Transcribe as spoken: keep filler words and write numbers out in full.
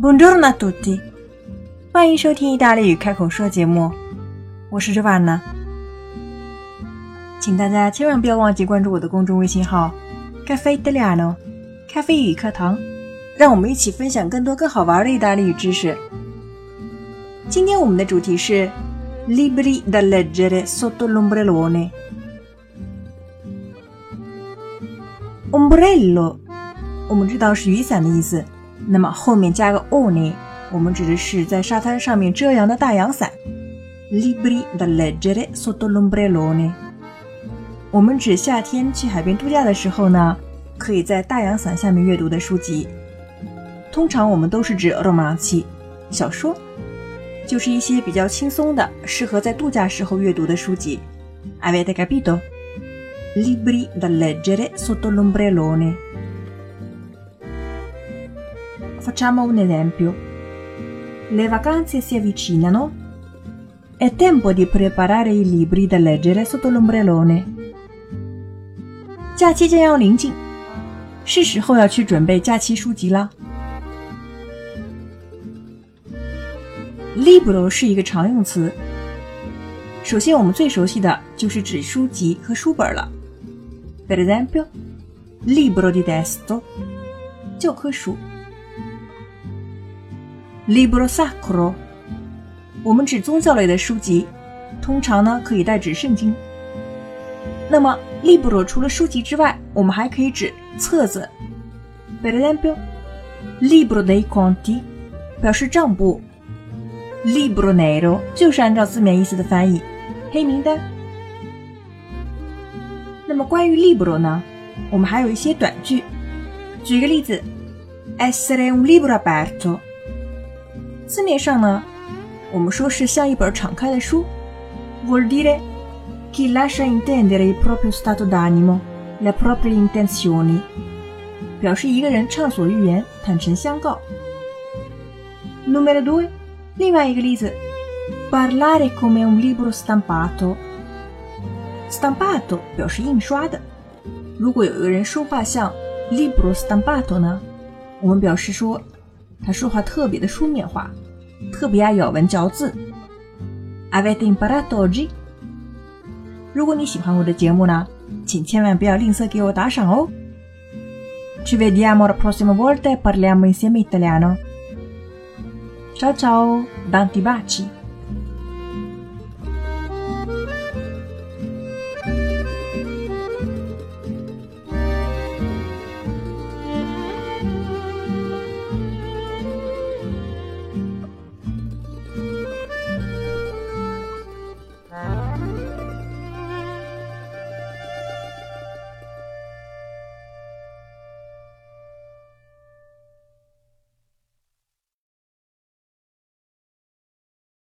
Buongiorno a tutti， 欢迎收听意大利语开口说节目，我是 Giovanna。请大家千万不要忘记关注我的公众微信号 Caffè Italiano 咖啡语课堂，让我们一起分享更多更好玩的意大利语知识。今天我们的主题是 Libri da leggere sotto l'ombrellone。 Ombrello 我们知道是雨伞的意思，那么后面加个 one， 我们指的是在沙滩上面遮阳的大阳伞。 Libri da leggere sotto l'ombrellone， 我们指夏天去海边度假的时候呢，可以在大阳伞下面阅读的书籍。通常我们都是指 romanzi 小说，就是一些比较轻松的适合在度假时候阅读的书籍。 Avete capito? Libri da leggere sotto l'ombrellone. Facciamo un esempio. Le vacanze si avvicinano. È tempo di preparare i libri da leggere sotto l'ombrellone. 假期将要临近，是时候要去准备假期书籍了。Libro 是一个常用词，首先我们最熟悉的就是指书籍和书本了。Per esempio, libro di testo 教科书。Libro sacro 我们指宗教类的书籍，通常呢可以代指圣经。那么 libro 除了书籍之外，我们还可以指册子。Per esempio, libro dei conti 表示账簿。Libro nero 就是按照字面意思的翻译，黑名单。那么关于 libro 呢，我们还有一些短句。举个例子 essere un libro aperto， 字面上呢，我们说是像一本敞开的书。 Vuol dire chi lascia intendere il proprio stato d'animo, le proprie intenzioni， 表示一个人畅所欲言，坦诚相告。 Numero due，另外一个例子 parlare come un libro stampato， stampato 表示印刷的。如果有一个人说话像 libro stampato 呢，我们表示说他说话特别的书面化，特别爱咬文嚼字。 Avete imparato oggi？ 如果你喜欢我的节目呢，请千万不要吝啬给我打赏哦。 Ci vediamo la prossima volta e parliamo insieme italiano。Ciao ciao, tanti baci!